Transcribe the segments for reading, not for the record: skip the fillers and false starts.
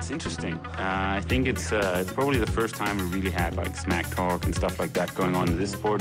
It's interesting. I think it's probably the first time we really had like smack talk and stuff like that going on in this sport.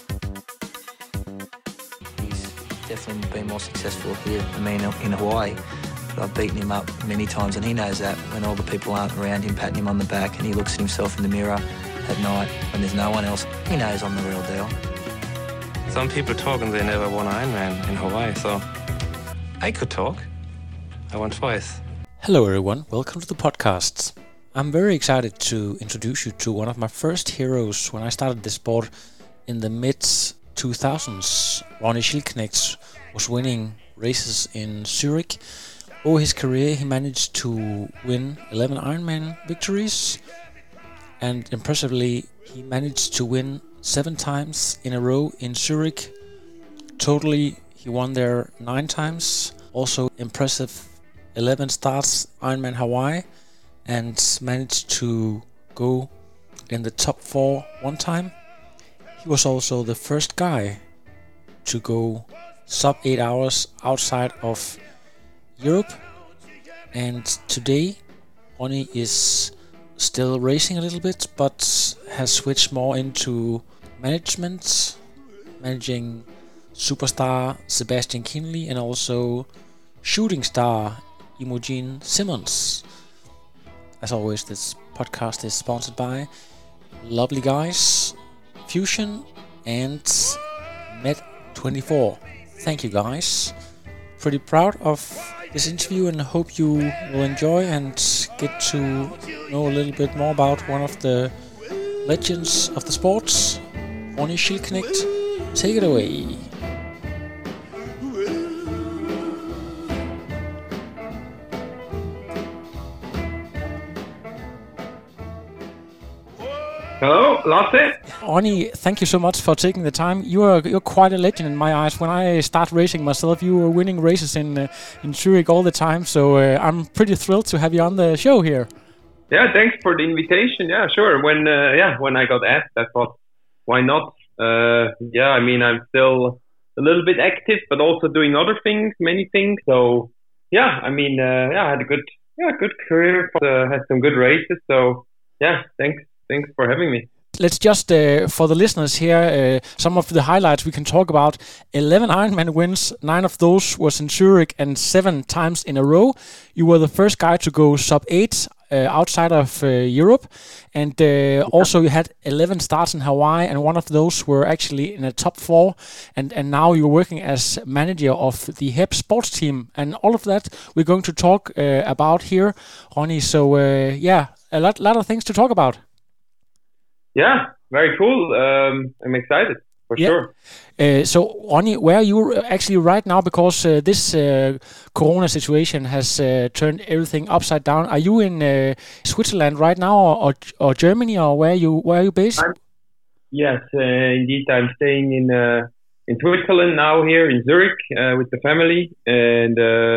He's definitely been more successful here than me in Hawaii. But I've beaten him up many times, and he knows that when all the people aren't around him patting him on the back and he looks at himself in the mirror at night when there's no one else, he knows I'm the real deal. Some people talk and they never won an Ironman in Hawaii, so I could talk. I won twice. Hello everyone, welcome to the podcast. I'm very excited to introduce you to one of my first heroes when I started this sport in the mid-2000s. Ronny Schildknecht was winning races in Zurich. Over his career he managed to win 11 Ironman victories, and impressively he managed to win 7 times in a row in Zurich. Totally he won there 9 times. Also impressive 11 starts Ironman Hawaii, and managed to go in the top 4 one time. He was also the first guy to go sub 8 hours outside of Europe, and today Ronny is still racing a little bit but has switched more into management, managing superstar Sebastian Kienle and also shooting star Imogen Simmons. As always, this podcast is sponsored by lovely guys Fusion and Med24. Thank you guys. Pretty proud of this interview and hope you will enjoy and get to know a little bit more about one of the legends of the sports, Ronny Schildknecht. Take it away. Hello, Lasse. Ronny, thank you so much for taking the time. You're quite a legend in my eyes. When I start racing myself, you were winning races in Zurich all the time. So I'm pretty thrilled to have you on the show here. Yeah, thanks for the invitation. Yeah, sure. When I got asked, I thought, why not? I mean, I'm still a little bit active, but also doing other things, many things. So yeah, I mean, I had a good career. Had some good races. So yeah, thanks for having me. Let's just, for the listeners here, some of the highlights we can talk about. 11 Ironman wins, 9 of those was in Zurich and 7 times in a row. You were the first guy to go sub 8 outside of Europe. And also you had 11 starts in Hawaii, and one of those were actually in a top 4. And now you're working as manager of the HEP sports team. And all of that we're going to talk about here, Ronny. So a lot of things to talk about. Yeah, very cool. I'm excited, for sure. So, Ronny, where are you actually right now? Because this corona situation has turned everything upside down. Are you in Switzerland right now, or Germany, or where are you based? Yes, indeed. I'm staying in Switzerland now, here in Zurich, with the family. And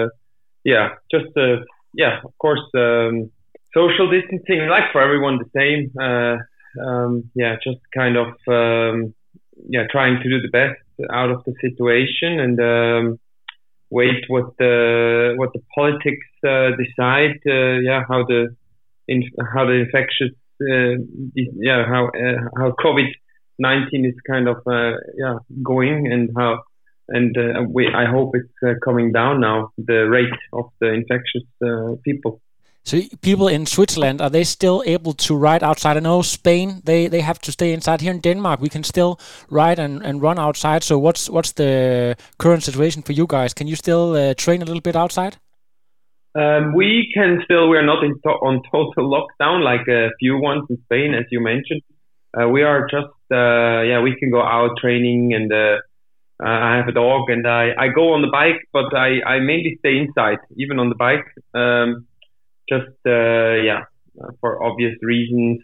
of course, social distancing, like for everyone, the same. Just kind of trying to do the best out of the situation and wait what the politics decide. How the infectious how COVID-19 is kind of going, and how I hope it's coming down now, the rate of the infectious people. So people in Switzerland, are they still able to ride outside? I know Spain, they have to stay inside. Here in Denmark, we can still ride and run outside. So what's the current situation for you guys? Can you still train a little bit outside? We can still. We are not on total lockdown like a few ones in Spain, as you mentioned. We are just, we can go out training, and I have a dog, and I go on the bike, but I mainly stay inside, even on the bike. For obvious reasons.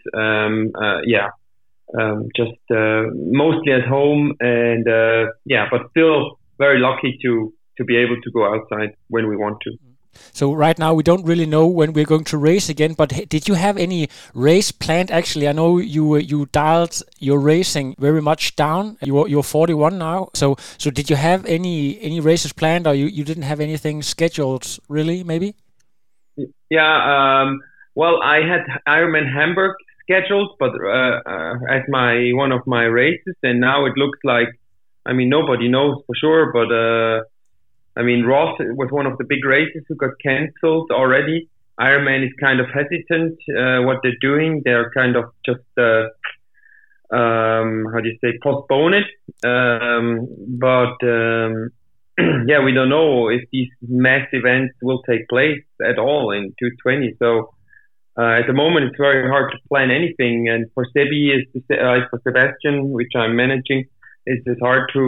Mostly at home, and but still very lucky to be able to go outside when we want to. So right now we don't really know when we're going to race again, but did you have any race planned actually? I know you dialed your racing very much down. You're 41 now. So did you have any races planned, or you didn't have anything scheduled really, maybe? Yeah, Well, I had Ironman Hamburg scheduled, but as one of my races, and now it looks like, I mean, nobody knows for sure, but I mean, Roth was one of the big races who got cancelled already. Ironman is kind of hesitant what they're doing. They're kind of just how do you say, postpone it. But yeah, we don't know if these mass events will take place at all in 220. So at the moment, it's very hard to plan anything. And for Sebi, for Sebastian, which I'm managing, it's hard to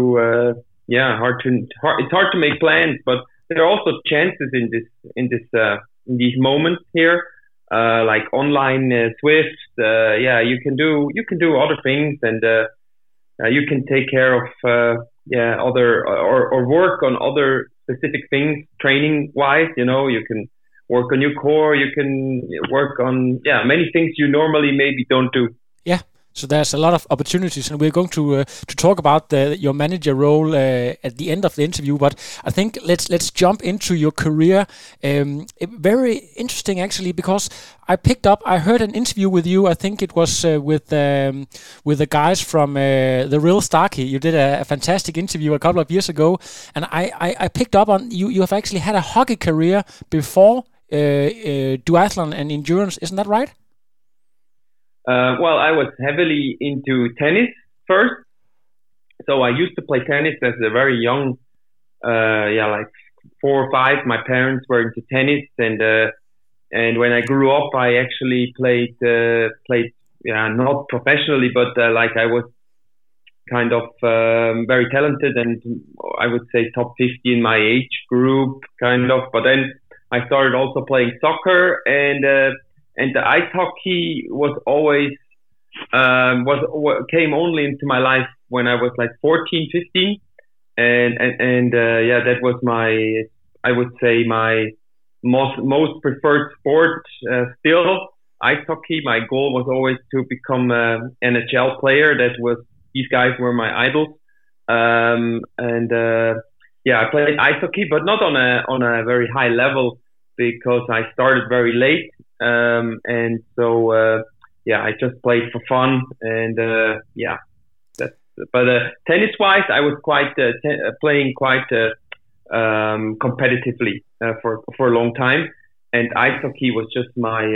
it's hard to make plans. But there are also chances in these moments here, like online Swift. You can do other things, and you can take care of other or work on other specific things training wise. You can work on your core. You can work on many things you normally maybe don't do. Yeah. So there's a lot of opportunities, and we're going to talk about your manager role at the end of the interview. But I think let's jump into your career. Very interesting, actually, because I heard an interview with you. I think it was with the guys from the Real Starkey. You did a fantastic interview a couple of years ago, and I picked up on you have actually had a hockey career before duathlon and endurance. Isn't that right? Well, I was heavily into tennis first. So I used to play tennis as a very young, like 4 or 5. My parents were into tennis, and when I grew up, I actually played not professionally, but like I was kind of very talented, and I would say top 50 in my age group, kind of. But then I started also playing soccer, and the ice hockey was always came only into my life when I was like 14, 15, and that was I would say my most preferred sport still, ice hockey. My goal was always to become an NHL player. These guys were my idols, I played ice hockey, but not on a very high level, because I started very late. And so I just played for fun, and but tennis wise, I was quite playing quite competitively for a long time, and ice hockey was just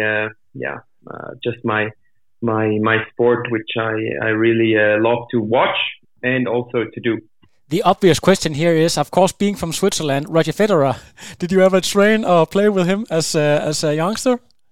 my sport, which I really love to watch and also to do. The obvious question here is, of course, being from Switzerland, Roger Federer. Did you ever train or play with him as a youngster?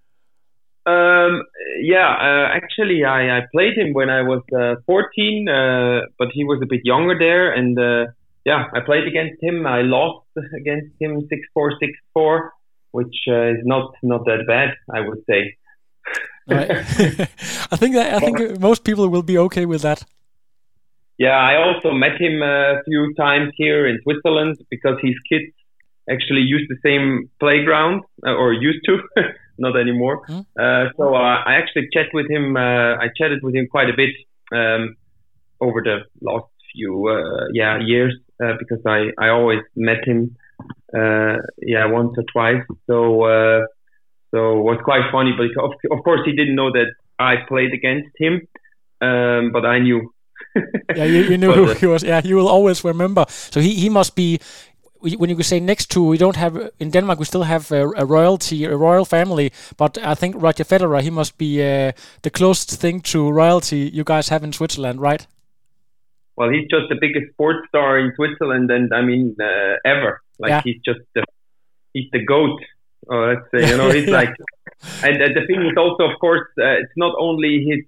Actually, I played him when I was 14, but he was a bit younger there, and I played against him. I lost against him 6-4, 6-4, which is not that bad, I would say. Right. I think most people will be okay with that. Yeah, I also met him a few times here in Switzerland, because his kids actually use the same playground, or used to. Not anymore. So I actually chatted with him. I chatted with him quite a bit over the last few years, because I always met him once or twice. So it was quite funny. But of course, he didn't know that I played against him, but I knew. You knew who he was. Yeah, you will always remember. So he must be. When you could say next to, we don't have in Denmark, we still have a royal family, but I think Roger Federer, he must be the closest thing to royalty you guys have in Switzerland, right? Well, he's just the biggest sports star in Switzerland, and I mean ever. He's just he's the GOAT. Let's say, he's like, and the thing is also, of course, it's not only his.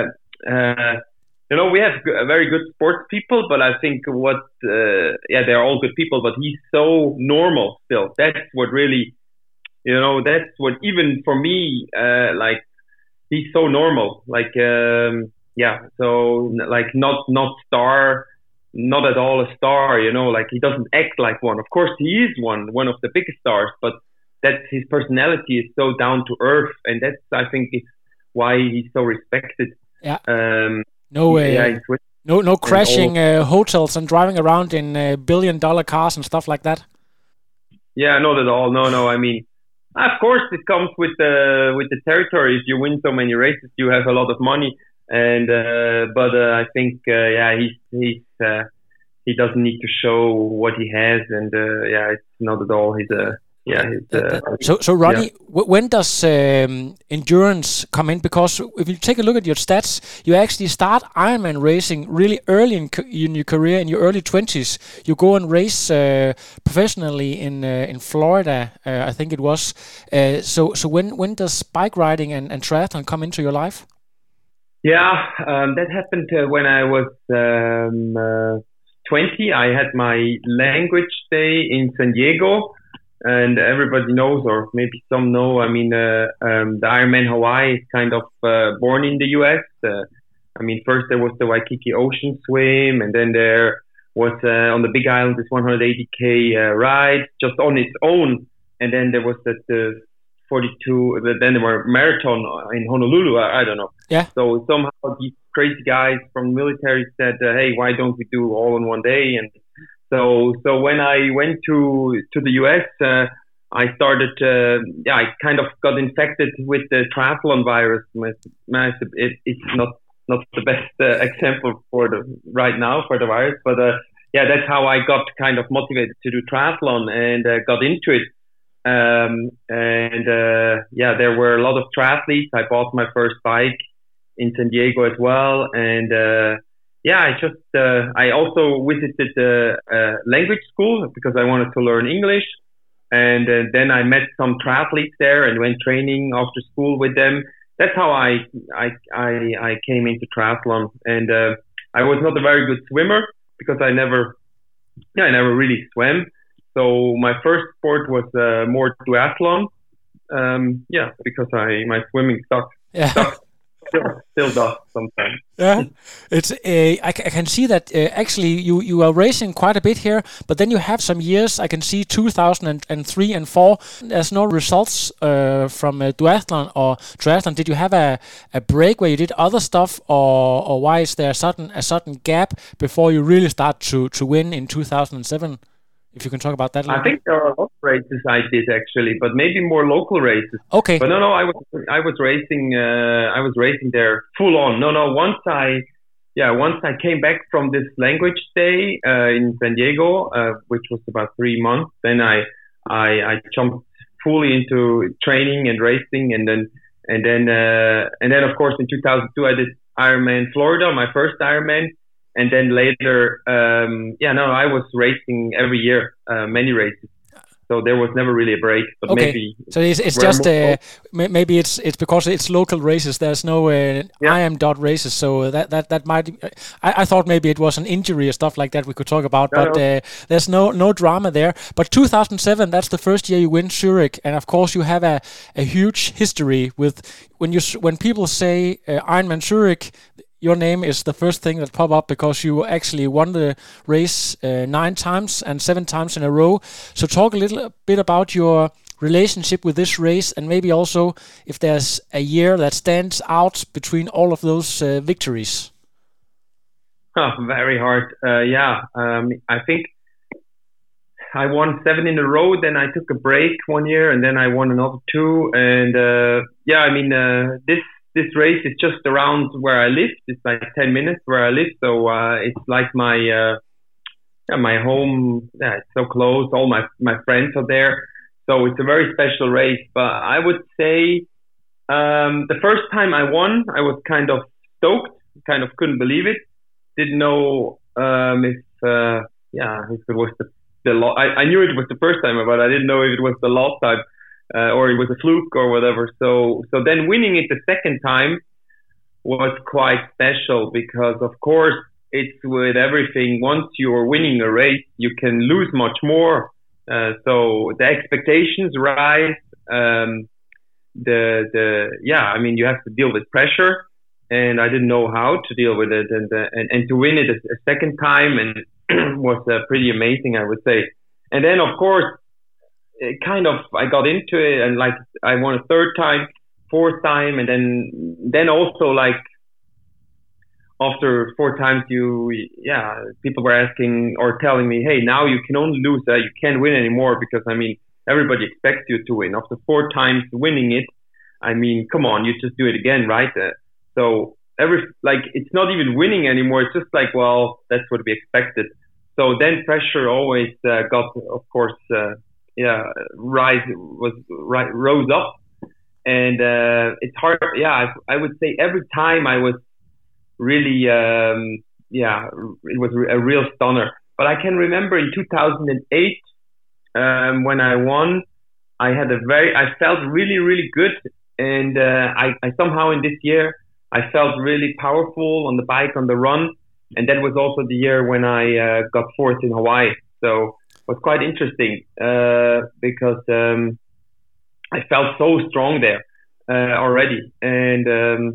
We have very good sports people, but I think they're all good people, but he's so normal still. That's what really, that's what, even for me, he's so normal. So like not star, not at all a star, he doesn't act like one. Of course he is one of the biggest stars, but that's his personality is so down to earth, and that's, I think, is why he's so respected. Yeah. No crashing hotels and driving around in $1 billion cars and stuff like that. Yeah, not at all. No. I mean, Of course, it comes with the territory. If you win so many races, you have a lot of money. And but I think he doesn't need to show what he has, and it's not at all. So Ronnie, when does endurance come in? Because if you take a look at your stats, you actually start Ironman racing really early in your career, in your early 20s. You go and race professionally in Florida, I think it was. So when does bike riding and triathlon come into your life? Yeah, that happened when I was 20. I had my language day in San Diego. And everybody knows, or maybe some know, I mean, the Ironman Hawaii is kind of born in the US. First there was the Waikiki Ocean Swim, and then there was on the Big Island this 180K ride just on its own. And then there was the 42, then there were marathon in Honolulu, I don't know. Yeah. So somehow these crazy guys from the military said, hey, why don't we do all in one day? And So when I went to the US, I started. I kind of got infected with the triathlon virus. It's not the best example right now for the virus, but that's how I got kind of motivated to do triathlon and got into it. There were a lot of triathletes. I bought my first bike in San Diego as well, and. I also visited the language school because I wanted to learn English. And then I met some triathletes there and went training after school with them. That's how I came into triathlon. And I was not a very good swimmer because I never really swam. So my first sport was more duathlon. Because my swimming sucked. Yeah. Still does sometimes. Yeah, it's I can see that actually you are racing quite a bit here, but then you have some years. I can see 2003 and 4. There's no results from duathlon or triathlon. Did you have a break where you did other stuff, or why is there a sudden gap before you really start to win in 2007? If you can talk about that a little I think there are a lot of races I did actually, but maybe more local races. Okay. But no, I was racing. I was racing there full on. No. Once I came back from this language day in San Diego, which was about 3 months, then I jumped fully into training and racing, and then of course in 2002 I did Ironman Florida, my first Ironman. And then later, I was racing every year, many races. So there was never really a break. But okay. Maybe so it's just maybe it's because it's local races. There's no IM dot races, so that might. I thought maybe it was an injury or stuff like that we could talk about, but there's no drama there. But 2007, that's the first year you win Zurich, and of course you have a huge history with when people say Ironman Zurich. Your name is the first thing that pop up because you actually won the race 9 times and 7 times in a row. So talk a little bit about your relationship with this race, and maybe also if there's a year that stands out between all of those victories. Very hard. I think I won 7 in a row. Then I took a break 1 year, and then I won another 2. And this race is just around where I live. It's like 10 minutes where I live. So it's like my home. Yeah, it's so close. All my friends are there. So it's a very special race. But I would say the first time I won, I was kind of stoked. Kind of couldn't believe it. Didn't know if it was the I knew it was the first time, but I didn't know if it was the last time. Or it was a fluke or whatever. So then winning it the second time was quite special because, of course, it's with everything. Once you're winning a race, you can lose much more. So the expectations rise. You have to deal with pressure, and I didn't know how to deal with it. And to win it a second time and was pretty amazing, I would say. And then, of course, I got into it, and like I won a 3rd time, 4th time, and then also like after 4 times, people were asking or telling me, hey, now you can only lose, you can't win anymore because everybody expects you to win. After 4 times winning it, I mean, come on, you just do it again, right? So it's not even winning anymore. It's just like, well, that's what we expected. So then pressure always got, of course, rose up, and it's hard. Yeah, I would say every time I was really, it was a real stunner. But I can remember in 2008 when I won, I felt really, really good, and I somehow in this year I felt really powerful on the bike, on the run. And that was also the year when I got 4th in Hawaii. So it was quite interesting because I felt so strong there already. And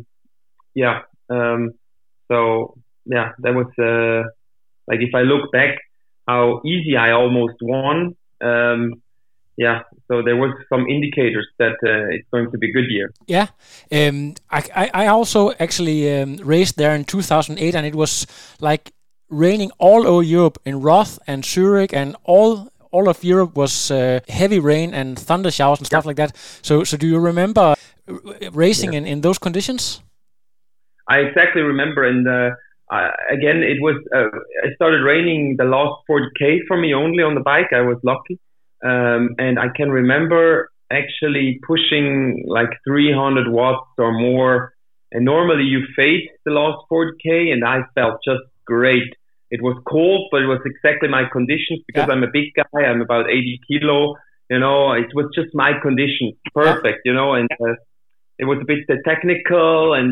that was like, if I look back how easy I almost won, so there was some indicators that it's going to be a good year. Yeah, I also actually raced there in 2008, and it was like raining all over Europe in Roth and Zurich, and all of Europe was heavy rain and thunder showers and stuff like that. So do you remember racing in those conditions? I exactly remember, and again, it was it started raining the last 40K for me only on the bike. I was lucky. And I can remember actually pushing like 300 watts or more. And normally you fade the last 40K, and I felt just great. It was cold, but it was exactly my conditions because I'm a big guy. I'm about 80 kilo. You know, it was just my conditions, perfect. You know, and it was a bit technical, and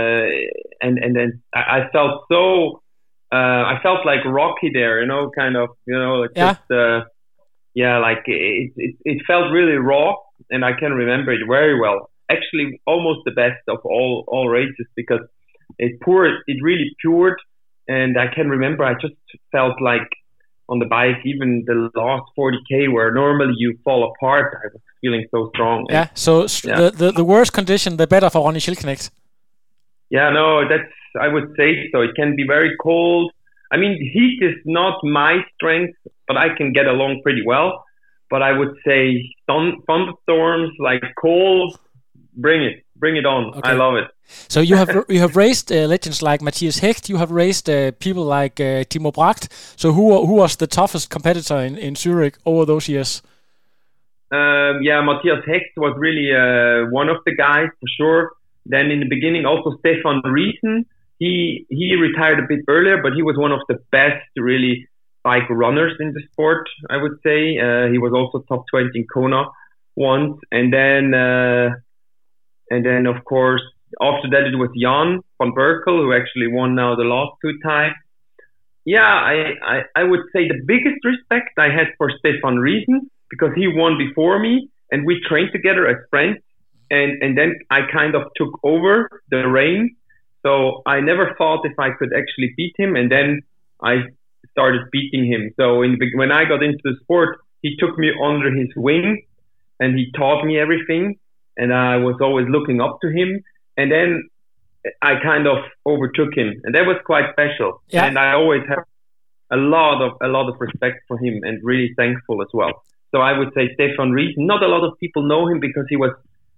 then I felt so. I felt like Rocky there. You know, kind of. You know, like just. Like it felt really raw, and I can remember it very well. Actually, almost the best of all races, because it really poured, and I can remember I just felt like on the bike, even the last 40K where normally you fall apart, I was feeling so strong. Yeah, the worse condition, the better for Ronny Schildknecht. Yeah, no, I would say so. It can be very cold. I mean, heat is not my strength, but I can get along pretty well. But I would say thunderstorms, like cold, bring it on. Okay. I love it. So you have raced legends like Matthias Hecht. You have raced people like Timo Bracht. So who was the toughest competitor in Zurich over those years? Matthias Hecht was really one of the guys for sure. Then in the beginning, also Stefan Riesen. He retired a bit earlier, but he was one of the best really bike runners in the sport, I would say. He was also top 20 in Kona once, and then of course after that it was Jan van Berkel, who actually won now the last 2 times. I would say the biggest respect I had for Stefan Riesen, because he won before me and we trained together as friends, and then I kind of took over the reins. So I never thought if I could actually beat him, and then I started beating him. So when I got into the sport, he took me under his wing, and he taught me everything, and I was always looking up to him. And then I kind of overtook him, and that was quite special. Yeah. And I always have a lot of respect for him, and really thankful as well. So I would say Stefan Riesen. Not a lot of people know him because he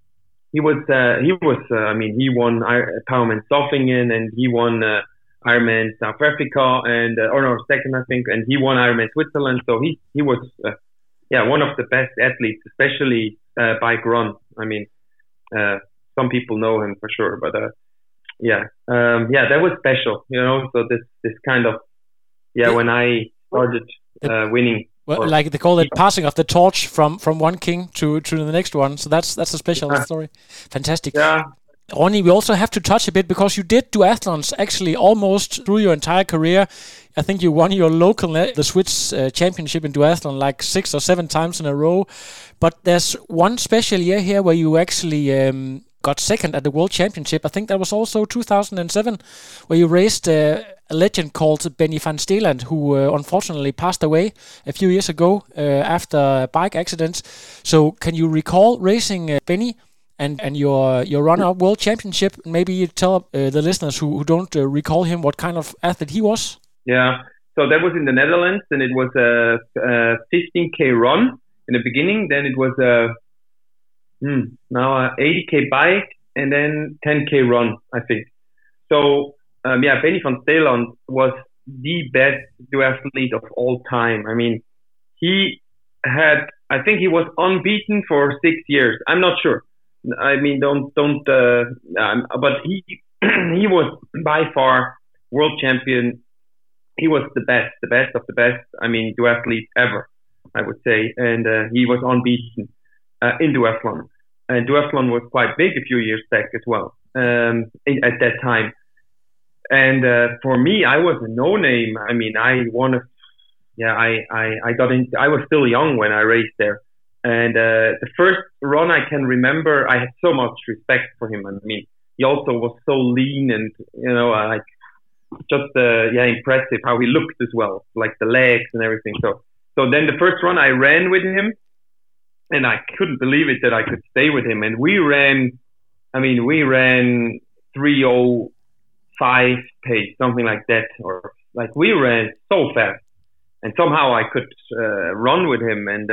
won Powerman Zofingen, and he won Ironman South Africa, and second I think, and he won Ironman Switzerland. So he was one of the best athletes, especially bike run. I mean, some people know him for sure, but that was special, you know. So this kind of when I started winning. Well, like they call it, passing of the torch from one king to the next one. So that's a special story. Fantastic. Yeah. Ronny, we also have to touch a bit, because you did duathlons actually almost through your entire career. I think you won your local, the Swiss championship in duathlon like 6 or 7 times in a row. But there's one special year here where you actually got second at the World Championship. I think that was also 2007, where you raced a legend called Benny van Steeland, who unfortunately passed away a few years ago after a bike accident. So can you recall racing Benny and your runner-up World Championship? Maybe you tell the listeners who don't recall him what kind of athlete he was. Yeah, so that was in the Netherlands, and it was a 15K run. in the beginning. Then it was now a 80k bike and then 10k run, I think. So Benny van Steeland was the best duathlete of all time. I mean, I think he was unbeaten for 6 years. I'm not sure. I mean, but he was by far world champion. He was the best of the best. I mean, duathlete ever, I would say. And he was unbeaten in duathlon. And duathlon was quite big a few years back as well, at that time. And for me, I was a no-name. I mean, I got in. I was still young when I raced there. And the first run I can remember, I had so much respect for him. I mean, he also was so lean and, impressive how he looked as well, like the legs and everything. So then the first run I ran with him, and I couldn't believe it that I could stay with him. And we ran 3:05 pace, something like that, or like we ran so fast. And somehow I could run with him, and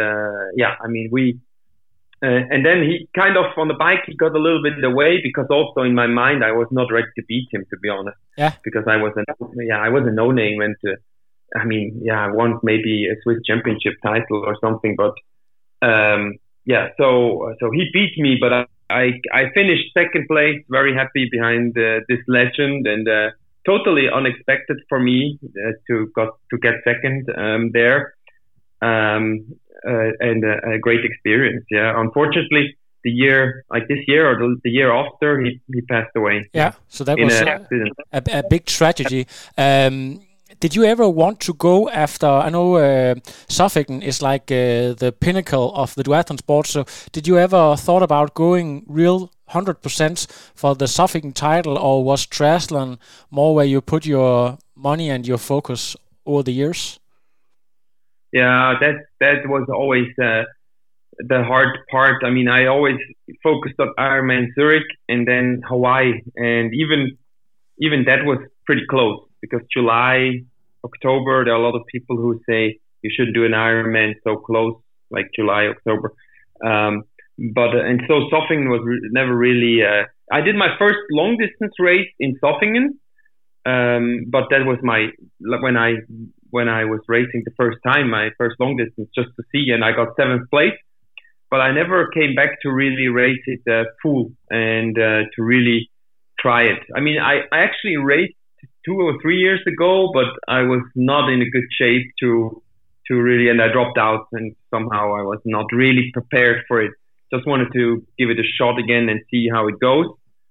and then he kind of on the bike he got a little bit away because also in my mind I was not ready to beat him, to be honest. Yeah. Because I was a no-name, and I won maybe a Swiss championship title or something, but so he beat me, but I finished second place, very happy behind this legend, and totally unexpected for me to get second there, and a great experience. Yeah, unfortunately, this year or the year after, he passed away. Yeah, so that was a big tragedy. Did you ever want to go after? I know Zofingen is like the pinnacle of the duathlon sport. So did you ever thought about going real 100% for the Zofingen title, or was triathlon more where you put your money and your focus over the years? Yeah, that was always the hard part. I mean, I always focused on Ironman Zurich and then Hawaii, and even that was pretty close. Because July, October, there are a lot of people who say you shouldn't do an Ironman so close, like July, October. And so Zofingen was never really. I did my first long distance race in Zofingen, but that was when I was racing the first time, my first long distance just to see, and I got 7th place. But I never came back to really race it full and to really try it. I mean, I actually raced 2 or 3 years ago, but I was not in a good shape to really, and I dropped out, and somehow I was not really prepared for it. Just wanted to give it a shot again and see how it goes,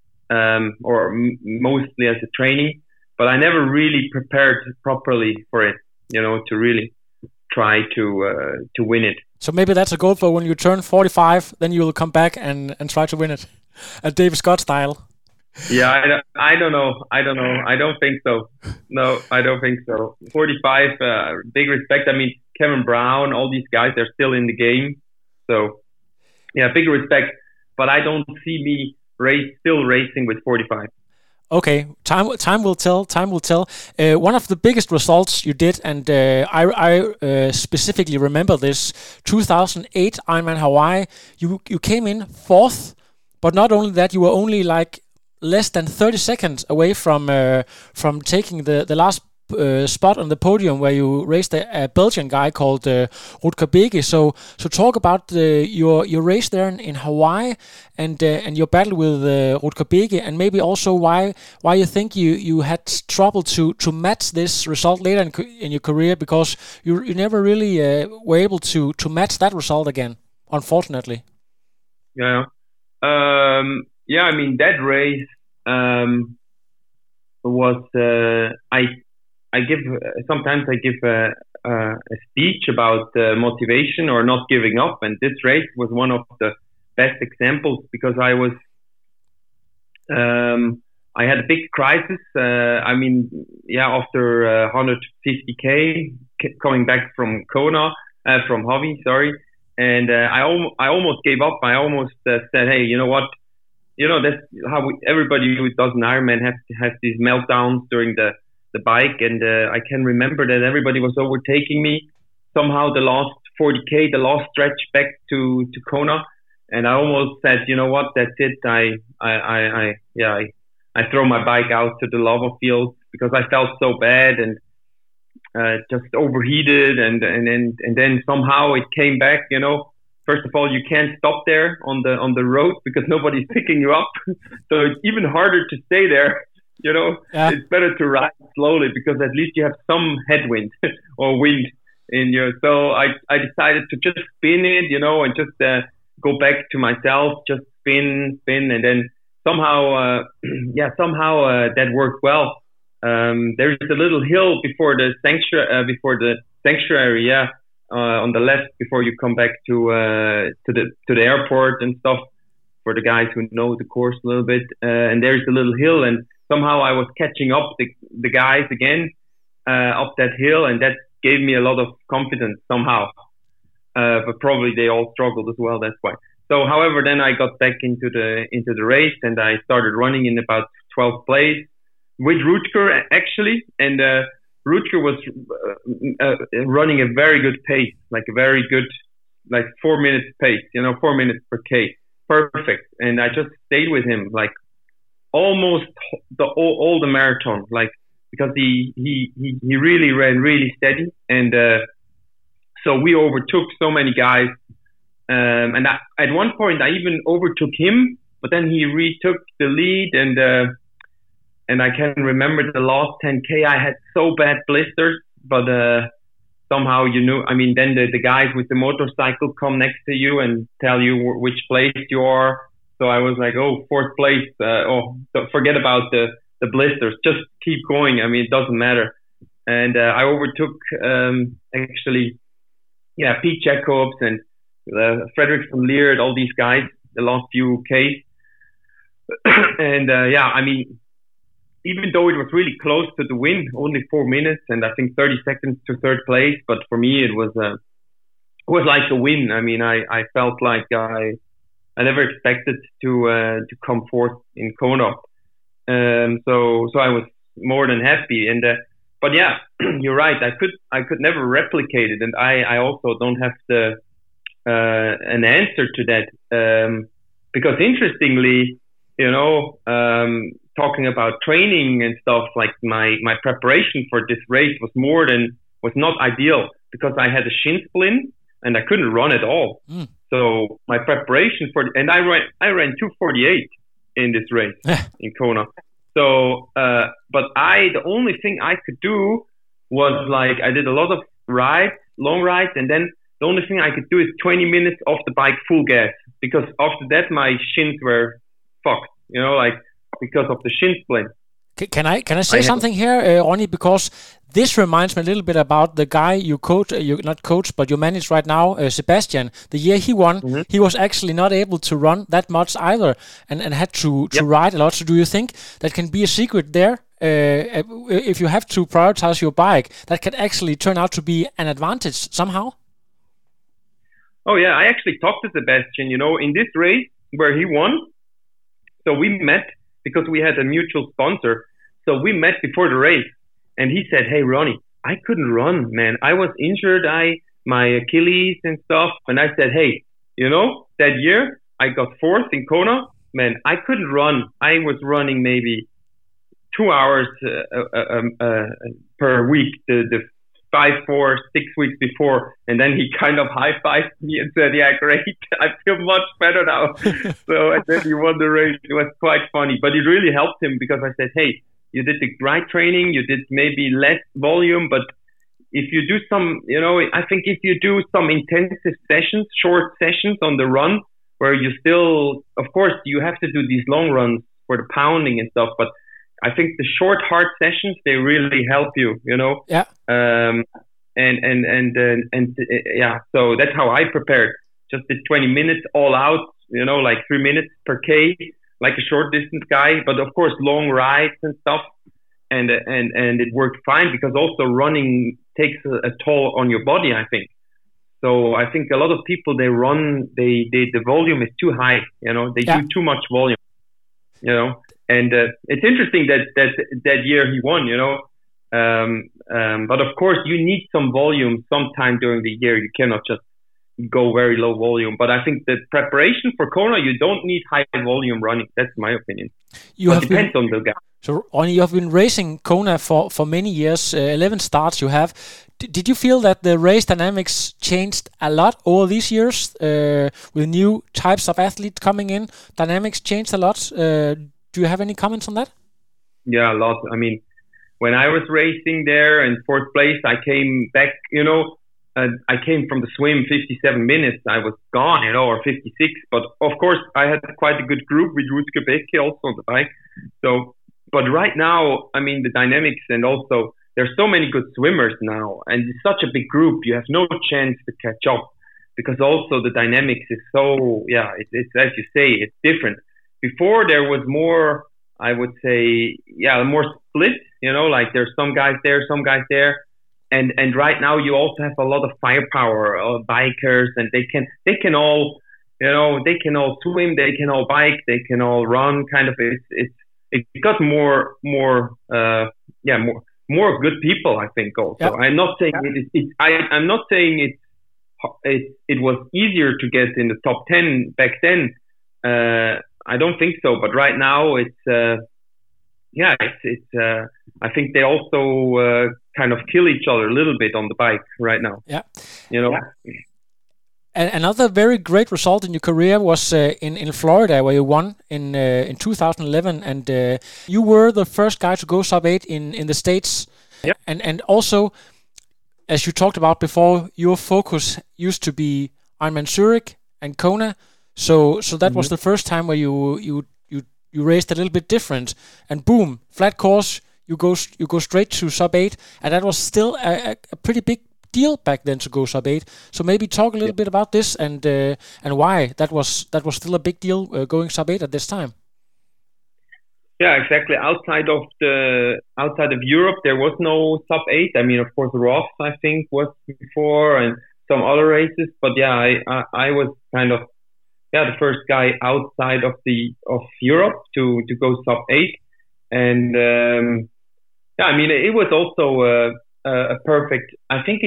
mostly as a training, but I never really prepared properly for it, to really try to win it. So maybe that's a goal for when you turn 45, then you will come back and try to win it, at David Scott style. Yeah, I don't know. I don't think so. No, I don't think so. 45, big respect. I mean, Kevin Brown, all these guys, they're still in the game. So, yeah, big respect. But I don't see me still racing with 45. Okay, time will tell. Time will tell. One of the biggest results you did, and I specifically remember this, 2008 Ironman Hawaii. You came in 4th, but not only that, you were only like less than 30 seconds away from taking the last spot on the podium, where you raced a Belgian guy called Rutger Bege. So talk about your race there in Hawaii and your battle with Rutger Bege, and maybe also why you think you had trouble to match this result later in your career, because you never really were able to match that result again, unfortunately. Yeah. I mean, that race was sometimes I give a speech about motivation or not giving up, and this race was one of the best examples, because I had a big crisis. After 150k coming back from Hawi, and I almost gave up. I almost said, hey, you know what? That's how everybody who does an Ironman has these meltdowns during the bike, and I can remember that everybody was overtaking me. Somehow the last 40K, the last stretch back to Kona. And I almost said, you know what, that's it. I throw my bike out to the lava field because I felt so bad and just overheated. And then somehow it came back, you know. First of all, you can't stop there on the road because nobody's picking you up. So it's even harder to stay there. You know, It's better to ride slowly because at least you have some headwind or wind in you. So I decided to just spin it, you know, and just go back to myself, just spin, and then somehow that worked well. There's a little hill before the sanctuary, on the left before you come back to the airport and stuff. For the guys who know the course a little bit, and there's a little hill, and somehow I was catching up the guys again up that hill, and that gave me a lot of confidence somehow. But probably they all struggled as well. That's why. So, however, then I got back into the race, and I started running in about 12th place with Rutger actually, and Rutger was running a very good pace, like a very good, like 4 minutes pace, 4 minutes per K. Perfect. And I just stayed with him like almost all the marathon, like because he really ran really steady, and so we overtook so many guys, and at one point I even overtook him, but then he retook the lead, and I can remember the last 10K I had so bad blisters, but somehow, then the guys with the motorcycle come next to you and tell you which place you are. So I was like, fourth place. Forget about the blisters. Just keep going. It doesn't matter. And I overtook, Pete Jacobs and Frederick from Leerd, all these guys, the last few Ks. And even though it was really close to the win, only 4 minutes and I think 30 seconds to third place, but for me it was like a win. I felt like I never expected to come fourth in Kona, so I was more than happy. And but yeah, you're right. I could never replicate it, and I also don't have an answer to that because interestingly, talking about training and stuff, like my preparation for this race was not ideal because I had a shin splint and I couldn't run at all. So my preparation and I ran 2:48 in this race in Kona. So, but the only thing I could do was like I did a lot of long rides, and then the only thing I could do is 20 minutes off the bike full gas, because after that my shins were fucked. Because of the shin splint. Can I say something here, Ronnie? Because this reminds me a little bit about the guy you manage right now, Sebastian. The year he won, he was actually not able to run that much either, and had to ride a lot. So do you think that can be a secret there? If you have to prioritize your bike, that can actually turn out to be an advantage somehow? Oh yeah, I actually talked to Sebastian, in this race where he won. So we met because we had a mutual sponsor. So we met before the race, and he said, "Hey, Ronnie, I couldn't run, man. I was injured, my Achilles and stuff." And I said, "Hey, that year I got fourth in Kona, man. I couldn't run. I was running maybe 2 hours per week, the 5, 4, 6 weeks before." And then he kind of high-fived me and said, "Yeah, great. I feel much better now." So, and then he won the race. It was quite funny, but it really helped him because I said, "Hey, you did the right training. You did maybe less volume, but if you do some, I think if you do some intensive sessions, short sessions on the run, where you still, of course, you have to do these long runs for the pounding and stuff, but I think the short, hard sessions, they really help you, Yeah. So that's how I prepared. Just did 20 minutes all out, like 3 minutes per K, like a short distance guy, but of course long rides and stuff. And it worked fine because also running takes a toll on your body, I think. So I think a lot of people, they run, the volume is too high, they do too much volume, And it's interesting that year he won, But of course, you need some volume sometime during the year. You cannot just go very low volume. But I think the preparation for Kona, you don't need high volume running. That's my opinion. It depends on the guy. So, Ronnie, you have been racing Kona for many years, 11 starts you have. Did you feel that the race dynamics changed a lot over these years with new types of athletes coming in? Dynamics changed a lot. Do you have any comments on that? Yeah, a lot. I mean, when I was racing there in fourth place, I came back, I came from the swim 57 minutes. I was gone, or 56. But of course, I had quite a good group with Rutger Beke also on the bike. So, but right now, I mean, the dynamics and also there's so many good swimmers now, and it's such a big group. You have no chance to catch up because also the dynamics is so, it's as you say, it's different. Before there was more, I would say, more split, like there's some guys there, some guys there. And right now you also have a lot of firepower, bikers, and they can all, they can all swim, they can all bike, they can all run. Kind of, it got more good people, I think. Also, I'm not saying I'm not saying it was easier to get in the top 10 back then. I don't think so. But right now, it's I think they also kind of kill each other a little bit on the bike right now. Yeah, And another very great result in your career was in Florida, where you won in 2011, and you were the first guy to go sub-8 in the States. Yep. And also, as you talked about before, your focus used to be Ironman Zurich and Kona, so that was the first time where you raced a little bit different, and boom, flat course, you go straight to sub-8, and that was still a pretty big deal back then to go sub-8. So maybe talk a little bit about this and why that was still a big deal going sub-8 at this time. Yeah, exactly. Outside of Europe, there was no sub-8. I mean, of course, Ross I think was before and some other races, but I was kind of the first guy outside of Europe to go sub-8, and I mean, it was also a perfect. I think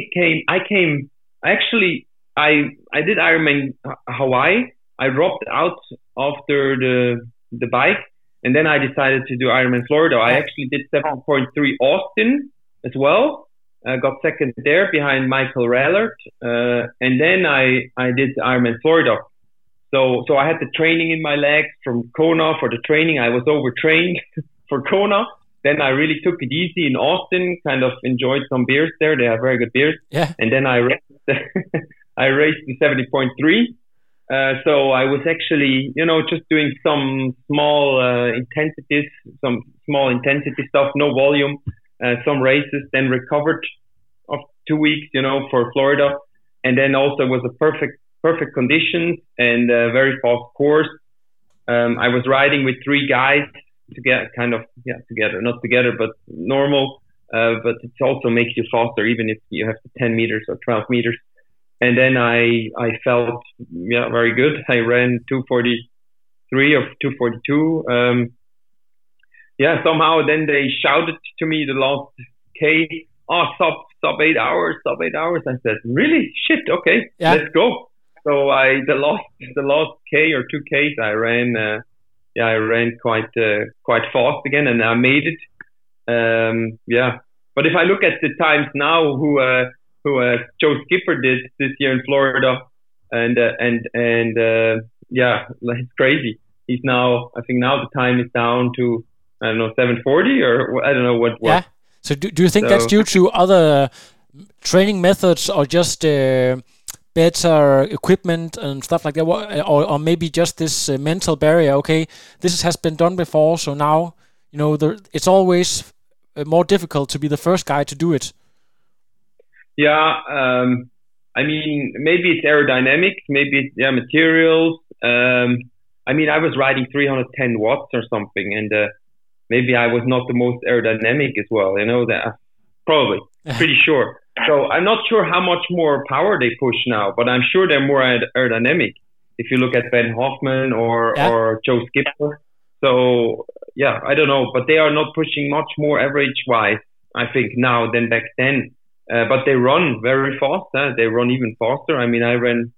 I did Ironman Hawaii. I dropped out after the bike, and then I decided to do Ironman Florida. I actually did 7.3 Austin as well. Got second there behind Michael Rallert, and then I did Ironman Florida. So I had the training in my legs from Kona for the training. I was overtrained for Kona. Then I really took it easy in Austin, kind of enjoyed some beers there. They have very good beers. Yeah. And then I raced the 70.3. So I was actually, just doing some small intensity stuff, no volume, some races, then recovered of 2 weeks, for Florida. And then also was a perfect conditions and a very fast course. I was riding with 3 guys together, not together, but normal. But it also makes you faster, even if you have 10 meters or 12 meters. And then I felt very good. I ran 2:43 or 2:42. Somehow then they shouted to me the last K, sub 8 hours. I said, really? Shit, okay, let's go. So the last K or 2 Ks I ran. I ran quite fast again, and I made it. But if I look at the times now, who Joe Skipper did this year in Florida, and it's crazy. He's now, I think now the time is down to 7:40 or I don't know what. Yeah. So do you think that's due to other training methods or just better equipment and stuff like that, or maybe just this mental barrier? Okay, this has been done before, so now it's always more difficult to be the first guy to do it. I mean, maybe it's aerodynamics, maybe it's materials. I mean, I was riding 310 watts or something, and maybe I was not the most aerodynamic as well. That probably pretty sure. So I'm not sure how much more power they push now, but I'm sure they're more aerodynamic. If you look at Ben Hoffman or Joe Skipper. So I don't know, but they are not pushing much more average wise I think, now than back then. But they run very fast. They run even faster. I mean, I ran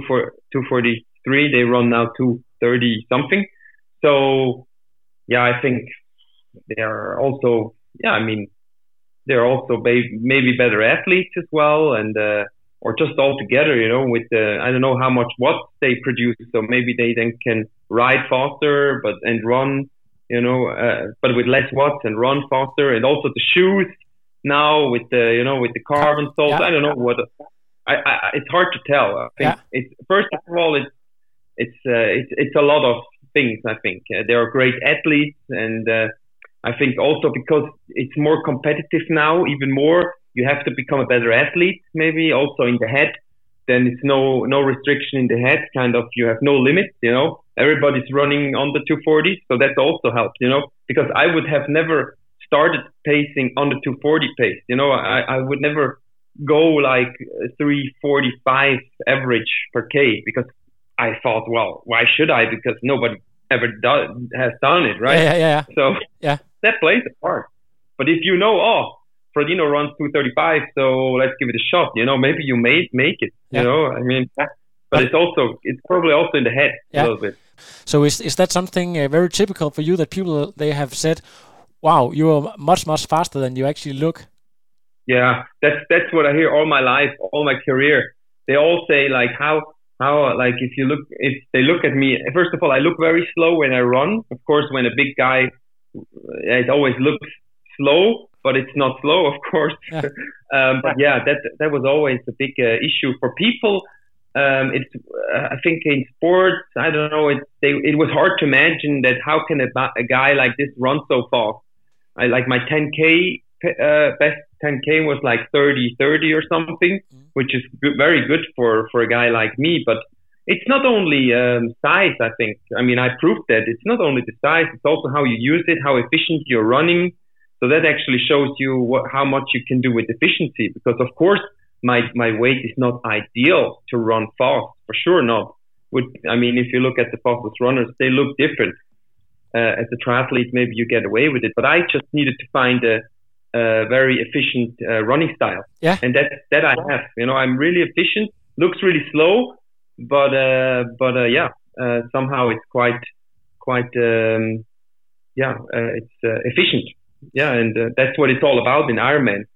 2:43. They run now 2:30 something. So, yeah, I think they are also, they're also maybe better athletes as well, and or just all together, with I don't know how much watts they produce. So maybe they then can ride faster, and run, but with less watts and run faster, and also the shoes now with the carbon soles. I don't know what. It's hard to tell. I think it's first of all it's a lot of things. I think they are great athletes, and I think also because it's more competitive now, even more, you have to become a better athlete. Maybe also in the head, then it's no restriction in the head. Kind of you have no limits. Everybody's running on the 240, so that also helps. Because I would have never started pacing on the 240 pace. I would never go like 3:45 average per K, because I thought, well, why should I? Because nobody ever has done it, right? Yeah. So that plays a part. But if Frodeno runs 2:35, so let's give it a shot. Maybe you may make it. I mean, but it's probably also in the head a little bit. So is that something very typical for you, that people, they have said, wow, you're much faster than you actually look? Yeah, that's what I hear all my life, all my career. They all say like how like if they look at me, first of all, I look very slow when I run. Of course, when a big guy, it always looks slow, but it's not slow, of course. Yeah. But yeah, that was always a big issue for people. I think in sports, I don't know, it was hard to imagine that how can a guy like this run so fast. I like my 10K, best 10K was like 30 or something, which is very good for a guy like me. But it's not only size, I think. I mean, I proved that it's not only the size, it's also how you use it, how efficient you're running. So that actually shows you how much you can do with efficiency. Because of course, my weight is not ideal to run fast, for sure not. I mean, if you look at the fastest runners, they look different. As a triathlete, maybe you get away with it. But I just needed to find a very efficient running style. Yeah. And that I have. I'm really efficient, looks really slow, but somehow it's quite it's efficient. Yeah, and that's what it's all about in Ironman.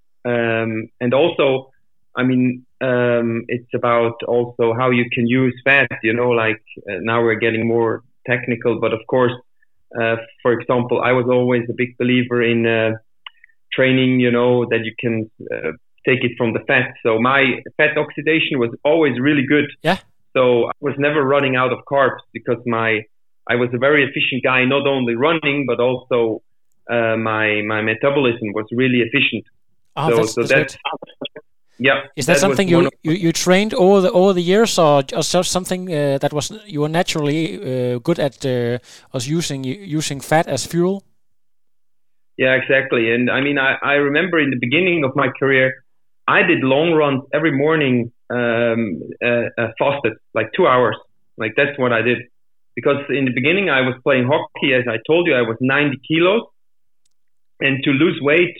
And also, I mean, it's about also how you can use fat. Now we're getting more technical, but of course, for example, I was always a big believer in training, that you can take it from the fat. So my fat oxidation was always really good. Yeah. So I was never running out of carbs because I was a very efficient guy, not only running, but also my metabolism was really efficient. Oh, so that's yeah. Is that something you trained over the years, or just something that was you were naturally good at was using fat as fuel? Yeah, exactly. And I mean, I remember in the beginning of my career, I did long runs every morning, fasted, like 2 hours. Like that's what I did. Because in the beginning, I was playing hockey. As I told you, I was 90 kilos. And to lose weight,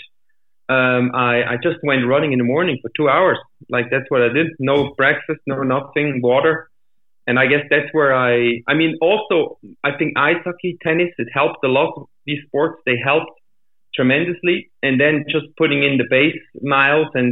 I just went running in the morning for 2 hours. Like that's what I did. No breakfast, no nothing, water. And I guess that's where also, I think ice hockey, tennis, it helped a lot. These sports, they helped tremendously. And then just putting in the base miles and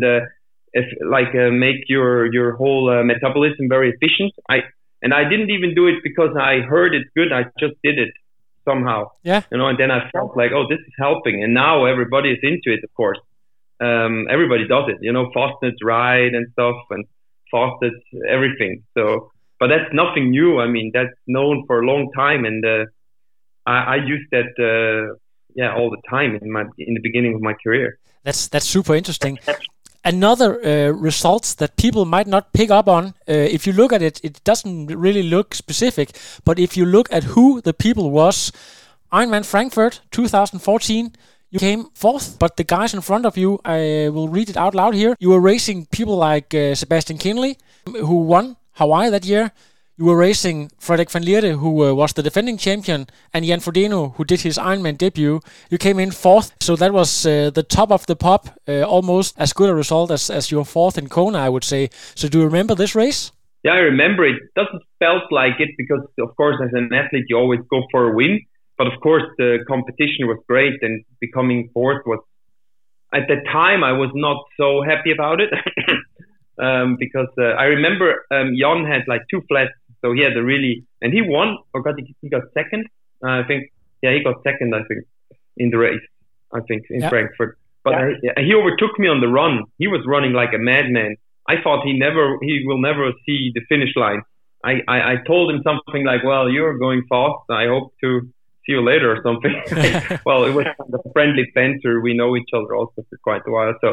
make your whole metabolism very efficient. I didn't even do it because I heard it's good. I just did it somehow. Yeah. And then I felt like, oh, this is helping. And now everybody is into it, of course. Everybody does it, fasted ride and stuff, and fasted everything. So, but that's nothing new. I mean, that's known for a long time. And I used that all the time in the beginning of my career. That's super interesting. Another results that people might not pick up on, if you look at it, it doesn't really look specific. But if you look at who the people was, Ironman Frankfurt 2014, you came fourth. But the guys in front of you, I will read it out loud here. You were racing people like Sebastian Kienle, who won Hawaii that year. You were racing Frederik van Lierde, who was the defending champion, and Jan Frodeno, who did his Ironman debut. You came in fourth, so that was the top of the pop, almost as good a result as your fourth in Kona, I would say. So do you remember this race? Yeah, I remember it. Doesn't felt like it because, of course, as an athlete, you always go for a win. But of course, the competition was great, and becoming fourth was, at the time, I was not so happy about it. Because I remember Jan had like 2 flats, so he had a really, and he won, or he got second, I think. Yeah, he got second, I think, in the race, I think, in Frankfurt. But he overtook me on the run. He was running like a madman. I thought he will never see the finish line. I told him something like, well, you're going fast, I hope to see you later or something. Well, it was kind of a friendly banter. We know each other also for quite a while. So,